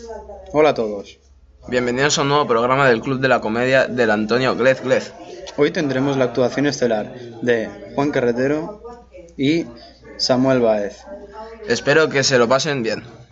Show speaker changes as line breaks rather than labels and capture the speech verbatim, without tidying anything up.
Hola a todos.
Bienvenidos a un nuevo programa del Club de la Comedia del Antonio Glez Glez.
Hoy tendremos la actuación estelar de Juan Carretero y Samuel Báez.
Espero que se lo pasen bien.